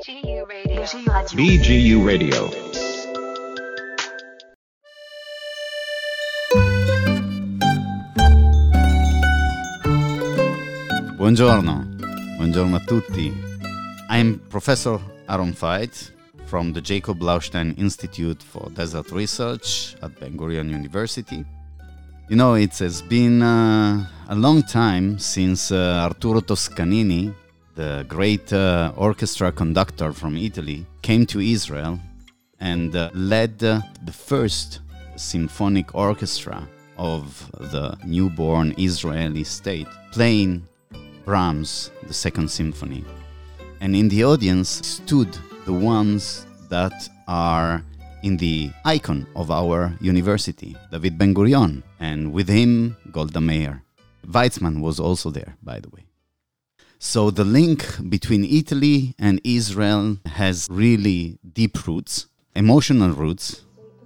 BGU Radio. Buongiorno a tutti. I'm Professor Aaron Veit from the Jacob Blaustein Institute for Desert Research at Ben-Gurion University. You know, it has been a long time since Arturo Toscanini, the great orchestra conductor from Italy, came to Israel and led the first symphonic orchestra of the newborn Israeli state, playing Brahms, the Second Symphony. And in the audience stood the ones that are in the icon of our university, David Ben-Gurion, and with him, Golda Meir. Weizmann was also there, by the way. So the link between Italy and Israel has really deep roots, emotional roots.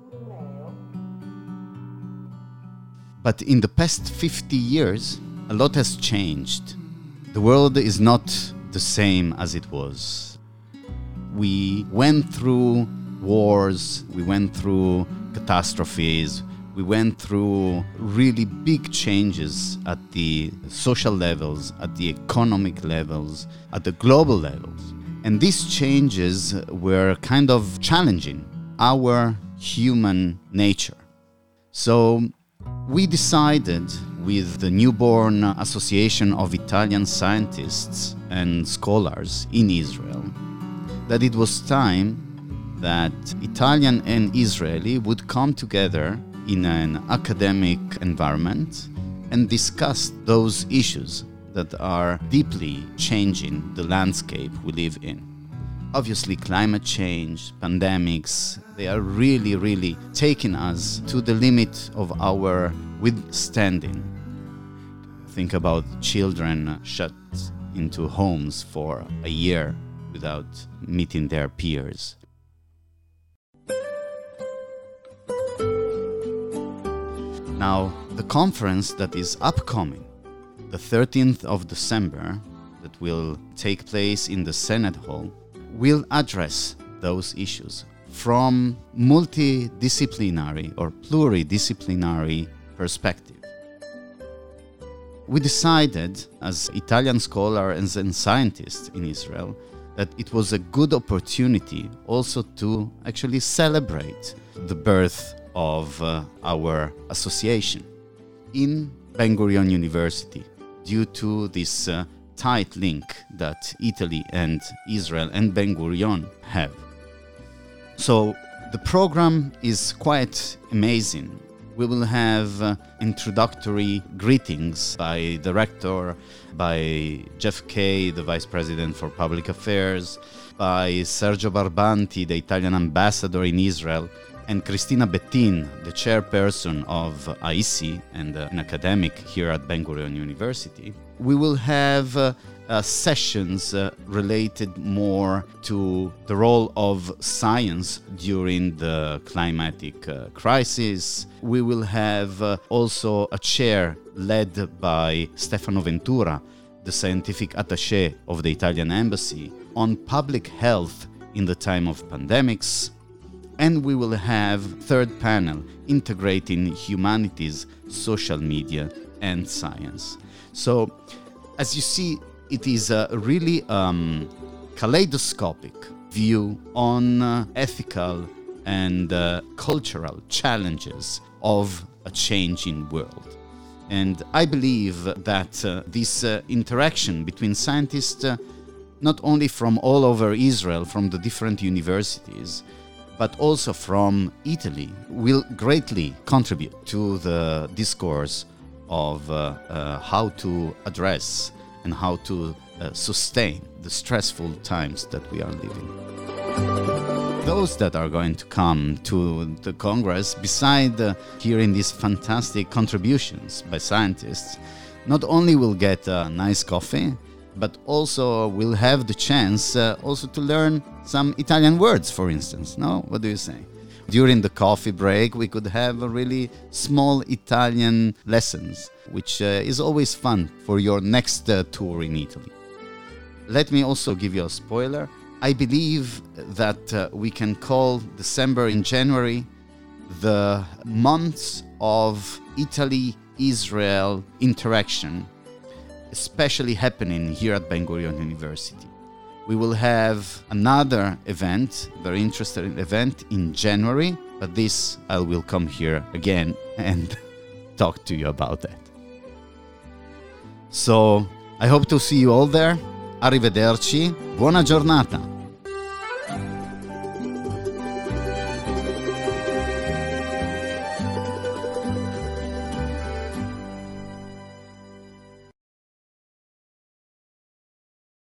But in the past 50 years, a lot has changed. The world is not the same as it was. We went through wars, we went through catastrophes, we went through really big changes at the social levels, at the economic levels, at the global levels. And these changes were kind of challenging our human nature. So we decided with the newborn Association of Italian Scientists and Scholars in Israel that it was time that Italian and Israeli would come together in an academic environment and discuss those issues that are deeply changing the landscape we live in. Obviously, climate change, pandemics, they are really taking us to the limit of our withstanding. Think about children shut into homes for a year without meeting their peers. Now, the conference that is upcoming, the 13th of December, that will take place in the Senate Hall, will address those issues from multidisciplinary or pluridisciplinary perspective. We decided, as Italian scholars and scientists in Israel, that it was a good opportunity also to actually celebrate the birth of our association in Ben-Gurion University due to this tight link that Italy and Israel and Ben-Gurion have. So the program is quite amazing. We will have introductory greetings by the rector, by Jeff Kay, the vice president for public affairs, by Sergio Barbanti, the Italian ambassador in Israel, and Cristina Bettin, the chairperson of AISI and an academic here at Ben-Gurion University. We will have sessions related more to the role of science during the climatic crisis. We will have also a chair led by Stefano Ventura, the scientific attaché of the Italian embassy, on public health in the time of pandemics. And we will have third panel integrating humanities, social media, and science. So, as you see, it is a really kaleidoscopic view on ethical and cultural challenges of a changing world. And I believe that this interaction between scientists, not only from all over Israel, from the different universities, but also from Italy, will greatly contribute to the discourse of how to address and how to sustain the stressful times that we are living. Those that are going to come to the Congress, beside hearing these fantastic contributions by scientists, not only will get a nice coffee, but also will have the chance also to learn some Italian words, for instance. No? What do you say? During the coffee break, we could have a really small Italian lessons, which is always fun for your next tour in Italy. Let me also give you a spoiler. I believe that we can call December and January the months of Italy-Israel interaction, especially happening here at Ben Gurion University. We will have another event, very interesting event in January, but this I will come here again and talk to you about that. So I hope to see you all there. Arrivederci, buona giornata.